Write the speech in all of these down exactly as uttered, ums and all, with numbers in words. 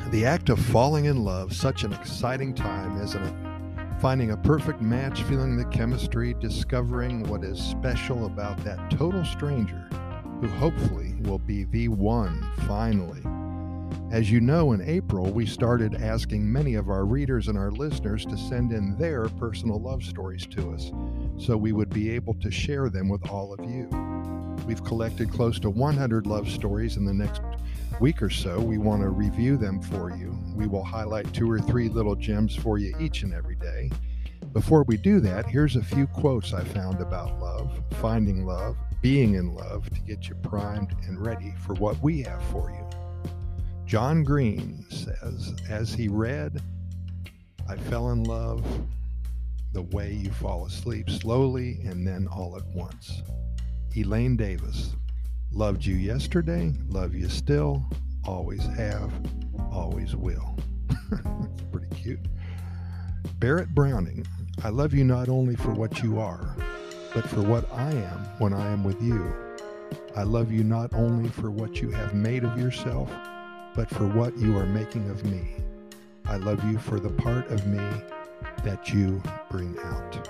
The act of falling in love, such an exciting time, isn't it? Finding a perfect match, feeling the chemistry, discovering what is special about that total stranger who hopefully will be the one finally. As you know, in April, we started asking many of our readers and our listeners to send in their personal love stories to us, so we would be able to share them with all of you. We've collected close to one hundred love stories. In the next week or so, we want to review them for you. We will highlight two or three little gems for you each and every day. Before we do that, here's a few quotes I found about love, finding love, being in love, to get you primed and ready for what we have for you. John Green says, as he read, I fell in love the way you fall asleep, slowly and then all at once. Elaine Davis, loved you yesterday, love you still, always have, always will. That's pretty cute. Barrett Browning, I love you not only for what you are, but for what I am when I am with you. I love you not only for what you have made of yourself, but for what you are making of me. I love you for the part of me that you bring out.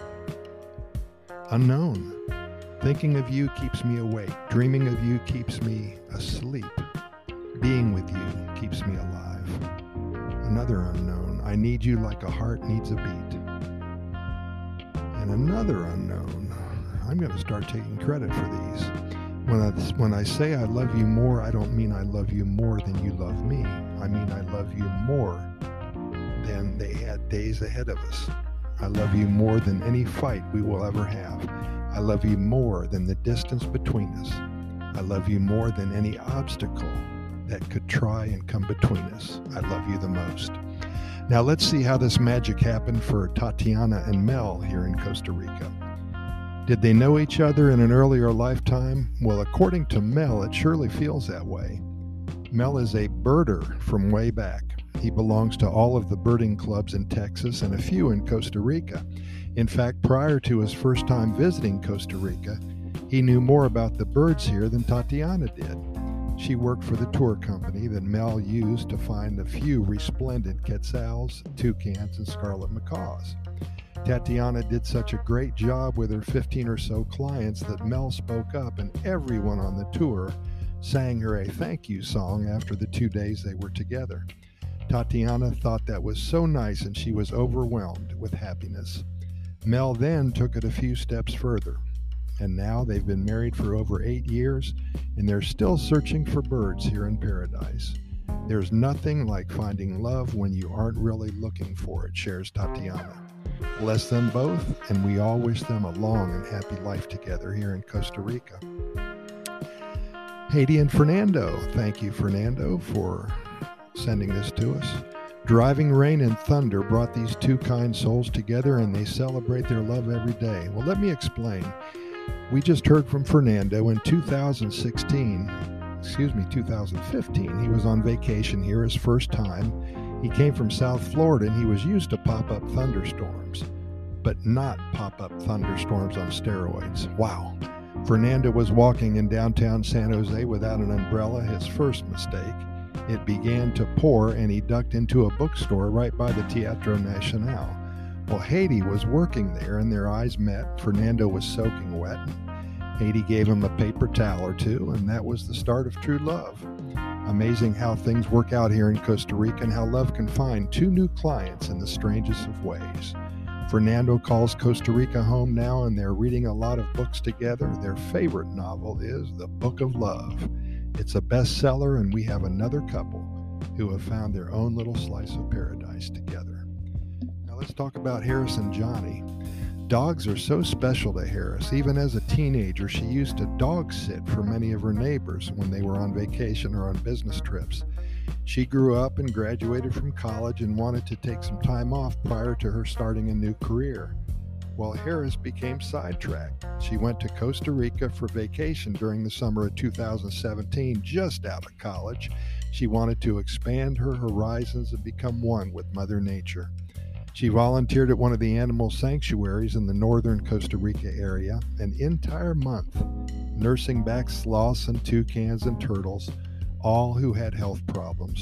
Unknown. Thinking of you keeps me awake. Dreaming of you keeps me asleep. Being with you keeps me alive. Another unknown. I need you like a heart needs a beat. And another unknown. I'm going to start taking credit for these. When I, when I say I love you more, I don't mean I love you more than you love me. I mean I love you more than they had days ahead of us. I love you more than any fight we will ever have. I love you more than the distance between us. I love you more than any obstacle that could try and come between us. I love you the most. Now let's see how this magic happened for Tatiana and Mel here in Costa Rica. Did they know each other in an earlier lifetime? Well, according to Mel, it surely feels that way. Mel is a birder from way back. He belongs to all of the birding clubs in Texas and a few in Costa Rica. In fact, prior to his first time visiting Costa Rica, he knew more about the birds here than Tatiana did. She worked for the tour company that Mel used to find a few resplendent quetzals, toucans, and scarlet macaws. Tatiana did such a great job with her fifteen or so clients that Mel spoke up, and everyone on the tour sang her a thank you song after the two days they were together. Tatiana thought that was so nice, and she was overwhelmed with happiness. Mel then took it a few steps further, and now they've been married for over eight years, and they're still searching for birds here in paradise. There's nothing like finding love when you aren't really looking for it, shares Tatiana. Bless them both, and we all wish them a long and happy life together here in Costa Rica. Haiti and Fernando. Thank you, Fernando, for sending this to us. Driving rain and thunder brought these two kind souls together, and they celebrate their love every day. Well, let me explain. We just heard from Fernando in two thousand sixteen, excuse me, two thousand fifteen. He was on vacation here his first time. He came from South Florida, and he was used to pop-up thunderstorms, but not pop-up thunderstorms on steroids. Wow. Fernando was walking in downtown San Jose without an umbrella, his first mistake. It began to pour, and he ducked into a bookstore right by the Teatro Nacional. Well, Haiti was working there, and their eyes met. Fernando was soaking wet. Haiti gave him a paper towel or two, and that was the start of true love. Amazing how things work out here in Costa Rica, and how love can find two new clients in the strangest of ways. Fernando calls Costa Rica home now, and they're reading a lot of books together. Their favorite novel is The Book of Love. It's a bestseller, and we have another couple who have found their own little slice of paradise together. Now let's talk about Harris and Johnny. Dogs are so special to Harris. Even as a teenager, she used to dog sit for many of her neighbors when they were on vacation or on business trips. She grew up and graduated from college and wanted to take some time off prior to her starting a new career. Well, Harris became sidetracked. She went to Costa Rica for vacation during the summer of two thousand seventeen, just out of college. She wanted to expand her horizons and become one with Mother Nature. She volunteered at one of the animal sanctuaries in the northern Costa Rica area an entire month, nursing back sloths and toucans and turtles, all who had health problems.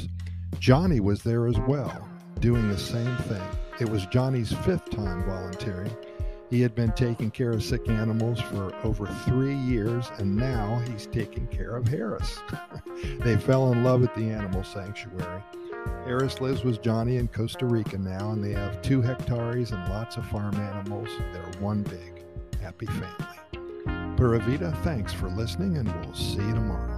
Johnny was there as well, doing the same thing. It was Johnny's fifth time volunteering. He had been taking care of sick animals for over three years, and now he's taking care of Harris. They fell in love at the animal sanctuary. Harris lives with Johnny in Costa Rica now, and they have two hectares and lots of farm animals. They're one big, happy family. Pura Vida, thanks for listening, and we'll see you tomorrow.